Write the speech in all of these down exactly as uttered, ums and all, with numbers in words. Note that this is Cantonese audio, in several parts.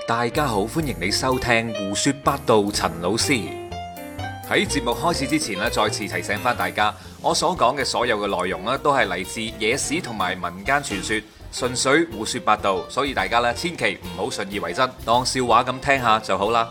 大家好，歡迎你收聽胡說八道。陳老師喺節目開始之前咧，再次提醒翻大家，我所講嘅所有嘅內容咧，都係嚟自野史同埋民間傳說，純粹胡說八道，所以大家咧千祈唔好信以為真，當笑話咁聽下就好啦。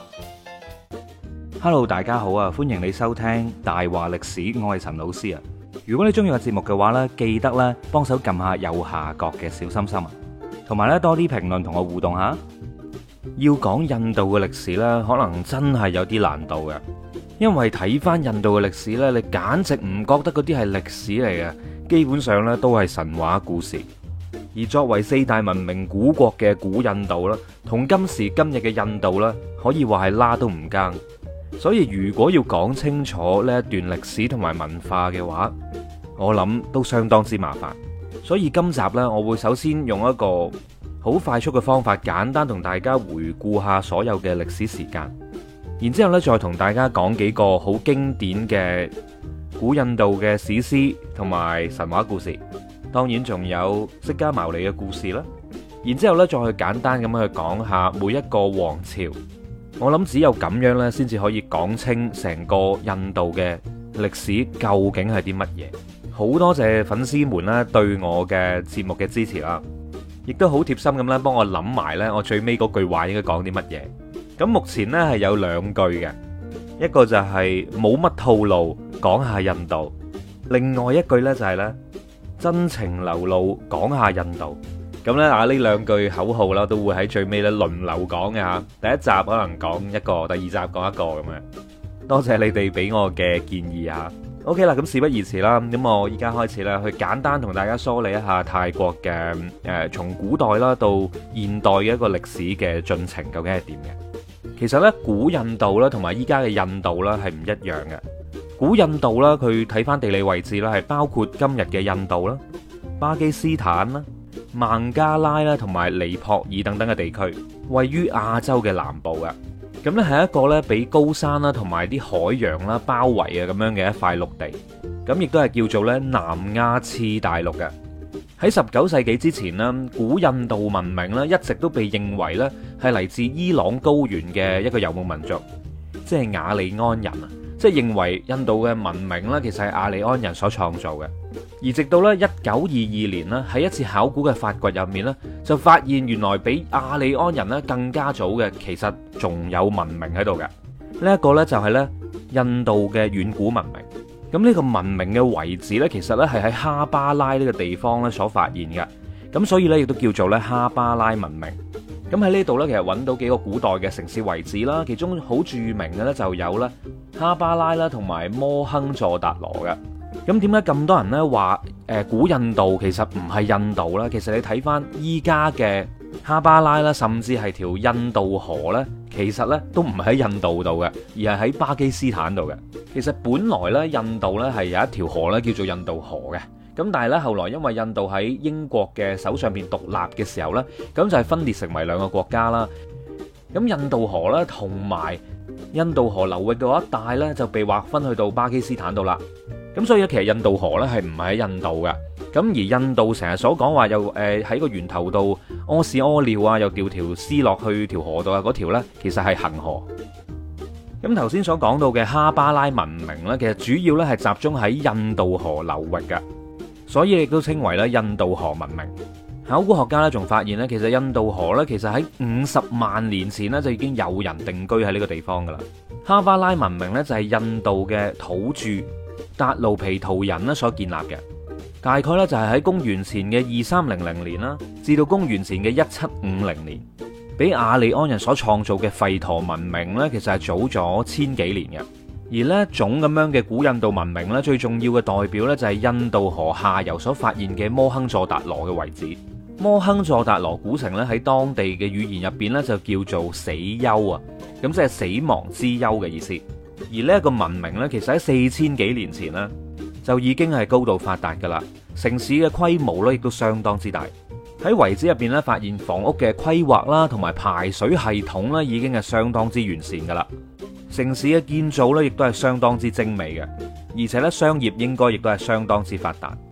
Hello， 大家好啊，歡迎你收聽大話歷史，我係陳老師啊。如果你中意個節目嘅話呢，記得咧幫手撳下右下角嘅小心心啊，同埋咧多啲評論同我互動下。要講印度嘅歷史呢，可能真係有啲難度嘅，因為睇翻印度嘅歷史呢，你簡直唔覺得嗰啲係歷史嚟嘅，基本上呢都係神話故事。而作為四大文明古國嘅古印度啦，同今時今日嘅印度啦，可以話係拉都唔更。所以如果要講清楚呢一段歷史同埋文化嘅話，我諗都相當之麻煩。所以今集呢，我會首先用一個好快速嘅方法，簡單同大家回顧下所有嘅歷史時間，然之後呢再同大家講幾個好經典嘅古印度嘅史詩同埋神話故事，當然仲有釋迦牟尼嘅故事啦。然之後呢再去簡單咁去講下每一個王朝。我諗只有咁樣呢，先至可以講清成個印度嘅歷史究竟係啲乜嘢。好多謝粉絲們呢對我嘅節目嘅支持啦，亦都好貼心咁咧幫我諗埋呢我最尾嗰句話應該講啲乜嘢。咁目前呢係有兩句嘅，一個就係冇乜套路講下印度，另外一句呢就係呢真情流露講下印度。咁咧啊，呢兩句口號啦，都會喺最尾咧輪流講嘅吓。第一集可能講一個，第二集講一個咁樣。多謝你哋俾我嘅建議啊。OK 啦，咁事不宜遲啦，咁我依家開始咧去簡單同大家梳理一下泰國嘅誒，從古代啦到現代嘅一個歷史嘅進程究竟係點嘅。其實咧，古印度啦同埋依家嘅印度啦係唔一樣嘅。古印度啦，佢睇翻地理位置啦，係包括今日嘅印度啦、巴基斯坦啦、孟加拉啦，同埋尼泊爾等等嘅地區，位於亞洲嘅南部嘅。咁呢係一個呢俾高山啦同埋啲海洋啦包圍啊咁樣嘅一塊陸地。咁亦都係叫做呢南亞次大陸嘅。喺十九世紀之前呢，古印度文明呢一直都被認為呢係嚟自伊朗高原嘅一個游牧民族，即係雅利安人啊。即係認為印度嘅文明呢，其實係雅利安人所創造嘅。而直到咧一九二二年咧，喺一次考古嘅發掘入面咧，就發現原來比雅利安人咧更加早嘅，其實仲有文明喺度嘅。呢一個咧就係咧印度嘅遠古文明。咁呢個文明嘅遺址咧，其實咧係喺哈巴拉呢個地方咧所發現嘅。咁所以咧亦都叫做咧哈巴拉文明。咁喺呢度咧，其實揾到幾個古代嘅城市遺址啦，其中好著名嘅咧就有咧哈巴拉啦，同埋摩亨佐達羅嘅。咁點解咁多人咧話誒古印度其實唔係印度啦？其實你睇翻依家嘅哈巴拉啦，甚至係條印度河咧，其實咧都唔係喺印度度嘅，而係喺巴基斯坦度嘅。其實本來咧印度咧係有一條河咧叫做印度河嘅，咁但係咧後來因為印度喺英國嘅手上邊獨立嘅時候咧，咁就係分裂成為兩個國家啦。咁印度河咧同埋印度河流域嘅嗰一帶咧就被劃分去到巴基斯坦度啦。咁所以其實印度河咧係唔係喺印度嘅。咁而印度成日所講話又誒喺個源頭度屙屎屙尿啊，又掉條屍落去條河度啊，嗰條咧其實係恒河。咁頭先所講到嘅哈巴拉文明咧，其實主要咧係集中喺印度河流域嘅，所以亦都稱為咧印度河文明。考古學家咧仲發現咧，其實印度河咧其實喺五十萬年前咧就已經有人定居喺呢個地方噶啦。哈巴拉文明咧就係印度嘅土著達盧皮圖人咧所建立嘅，大概咧就係喺公元前嘅二三零零年啦，至到公元前嘅一七五零年，比雅利安人所創造嘅吠陀文明咧，其實係早咗千幾年嘅。而呢一種咁樣嘅古印度文明咧，最重要嘅代表咧就係印度河下游所發現嘅摩亨佐達羅嘅遺址。摩亨佐達羅古城咧喺當地嘅語言入邊咧就叫做死丘啊，咁即係死亡之丘嘅意思。而呢一個文明呢，其實喺四千幾年前呢，就已經係高度發達噶啦，城市嘅規模呢，亦都相當之大。喺遺址入邊呢，發現房屋嘅規劃啦，同埋排水系統呢，已經係相當之完善噶啦。城市嘅建造呢，亦都係相當之精美嘅，而且呢，商業應該亦都係相當之發達。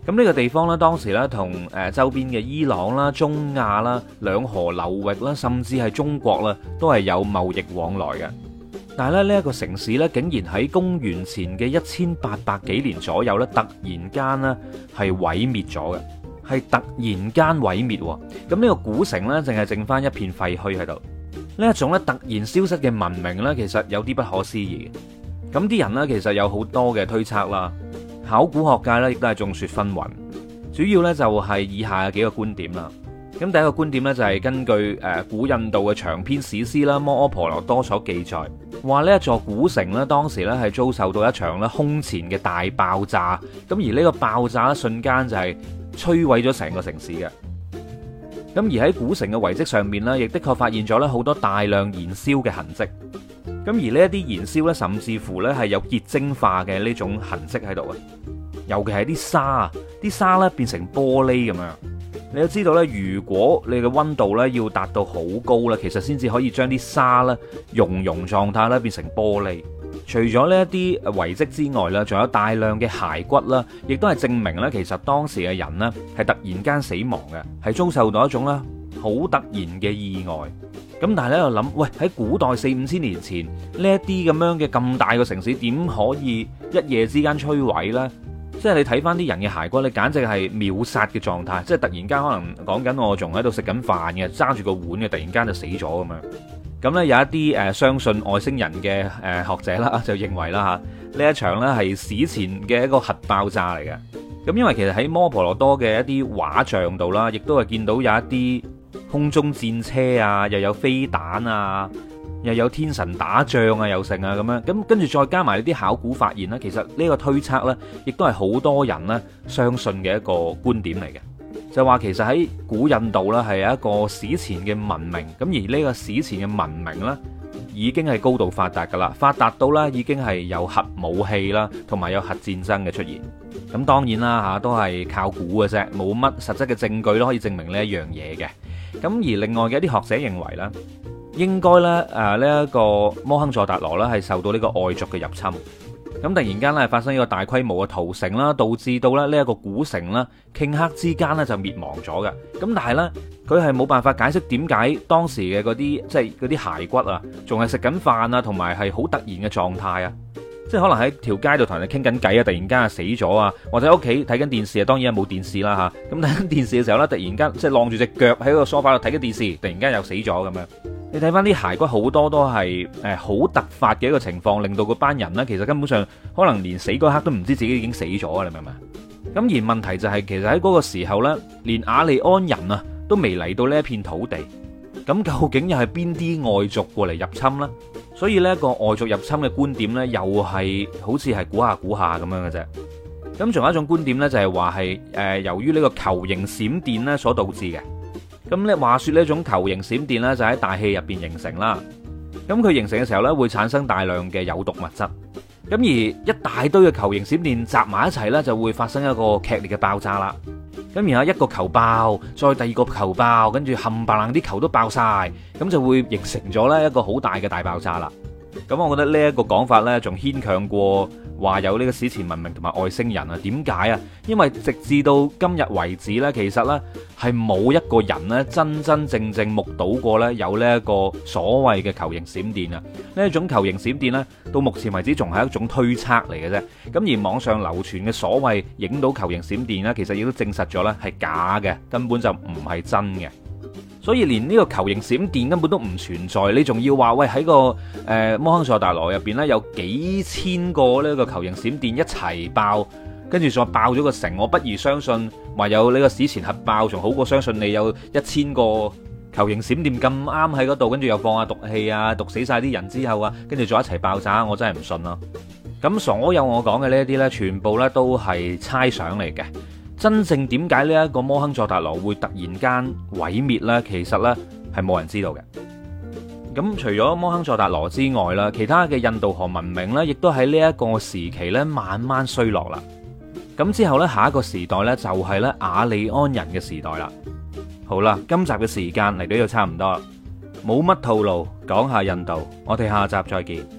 咁呢個地方呢，當時呢同誒周邊嘅伊朗啦、中亞啦、兩河流域啦，甚至係中國啦，都係有貿易往來嘅。但係咧呢一個城市呢，竟然喺公元前嘅一千八百幾年左右呢，突然間呢係毀滅咗嘅，係突然間毀滅。咁呢個古城呢，淨係剩翻一片廢墟喺度。呢一種咧突然消失嘅文明呢，其實有啲不可思議嘅。咁啲人呢，其實有好多嘅推測啦。考古學界咧亦都係眾說紛紜，主要咧就係以下嘅幾個觀點啦。咁第一個觀點咧就係根據誒古印度嘅長篇史詩啦《摩訶婆羅多》所記載，話呢一座古城咧當時咧係遭受到一場咧空前嘅大爆炸，咁而呢個爆炸咧瞬間就係摧毀咗成個城市嘅。咁而喺古城嘅遺跡上面咧，亦的確發現咗咧好多大量燃燒嘅痕跡。咁而呢一啲燃燒咧，甚至乎咧係有結晶化嘅呢種痕跡喺度啊！尤其係啲沙啊，啲沙咧變成玻璃咁樣。你都知道咧，如果你嘅溫度咧要達到好高咧，其實先至可以將啲沙咧熔融狀態咧變成玻璃。除咗呢一啲遺跡之外咧，仲有大量嘅骸骨啦，亦都係證明咧，其實當時嘅人呢係突然間死亡嘅，係遭受到一種咧好突然嘅意外。咁但係咧，我諗，喂，喺古代四五千年前呢一啲咁樣嘅咁大個城市，點可以一夜之間摧毀呢？即係你睇翻啲人嘅骸骨，你簡直係秒殺嘅狀態，即係突然間可能講緊我仲喺度食緊飯嘅，揸住個碗嘅，突然間就死咗咁樣。咁呢，有一啲誒相信外星人嘅誒學者啦，就認為啦嚇，呢一場呢係史前嘅一個核爆炸嚟嘅。咁因為其實喺摩訶婆羅多嘅一啲畫像度啦，亦都係見到有一啲空中戰車啊，又有飛彈啊，又有天神打仗啊，又成啊咁樣。咁跟住再加埋呢啲考古發現呢，其實呢個推測呢，亦都係好多人呢相信嘅一個觀點嚟嘅。就話其實喺古印度呢，係有一個史前嘅文明，咁而呢個史前嘅文明呢，已經係高度發達噶啦，發達到呢已經係有核武器啦，同埋有核戰爭嘅出現。咁當然啦嚇，都係靠估嘅啫，冇乜實質嘅證據都可以證明呢一樣嘢嘅。咁而另外嘅一啲學者認為呢，應該咧誒呢一個摩亨佐達羅咧係受到呢個外族嘅入侵，咁突然間咧發生一個大規模嘅屠城啦，導致到咧呢一個古城啦頃刻之間咧就滅亡咗嘅。咁但係呢，佢係冇辦法解釋點解當時嘅嗰啲即係嗰啲骸骨啊，仲係食緊飯啊，同埋係好突然嘅狀態啊。即係可能喺條街度同人哋傾緊偈啊，突然間啊死咗啊，或者喺屋企睇緊電視啊，當然係冇電視啦吓。咁睇緊電視嘅時候呢，突然間即係晾住隻腳喺個梳化度睇緊電視，突然間又死咗咁樣。你睇翻啲骸骨好多都係誒好突發嘅一個情況，令到嗰班人呢，其實根本上可能連死嗰刻都唔知自己已經死咗啊！你明唔明？咁而問題就係、是、其實喺嗰個時候呢，連雅利安人啊都未嚟到呢一片土地，咁究竟又係邊啲外族過嚟入侵呢？所以呢一個外族入侵嘅觀點呢，又係好似係估下估下咁樣嘅啫。咁仲有一種觀點呢，就係話係誒由於呢個球形閃電呢所導致嘅。咁咧話說呢種球形閃電呢，就喺大氣入邊形成啦。咁佢形成嘅時候呢，會產生大量嘅有毒物質。咁而一大堆嘅球形閃電集埋一齊呢，就會發生一個劇烈嘅爆炸啦。咁然後一個球爆，再第二個球爆，跟住冚唪唥啲球都爆晒，咁就會形成咗呢一個好大嘅大爆炸啦。咁我覺得呢一個講法呢，仲牽強過話有呢個史前文明同埋外星人啊？點解啊？因為直至到今日為止呢，其實呢係冇一個人呢真真正正目睹過呢有呢一個所謂嘅球形閃電啊！呢一種球形閃電呢，到目前為止仲係一種推測嚟嘅啫。咁而網上流傳嘅所謂影到球形閃電呢，其實亦都證實咗呢係假嘅，根本就唔係真嘅。所以連呢個球形閃電根本都唔存在，你仲要話喂喺個誒、呃、摩亨佐達羅入邊呢，有幾千個呢個球形閃電一齊爆，跟住再爆咗個城，我不如相信話有呢個史前核爆，仲好過相信你有一千個球形閃電咁啱喺嗰度，跟住又放下毒氣啊，毒死晒啲人之後啊，跟住再一齊爆炸，我真係唔信咯。咁所有我講嘅呢一啲呢，全部呢都係猜想嚟嘅。真正點解呢一個摩亨佐達羅會突然間毀滅呢？其實呢係冇人知道嘅。咁除咗摩亨佐達羅之外啦，其他嘅印度河文明呢，亦都喺呢一個時期呢慢慢衰落啦。咁之後呢，下一個時代呢，就係呢雅利安人嘅時代啦。好啦，今集嘅時間嚟到呢度差唔多啦，冇乜套路，講下印度，我哋下集再見。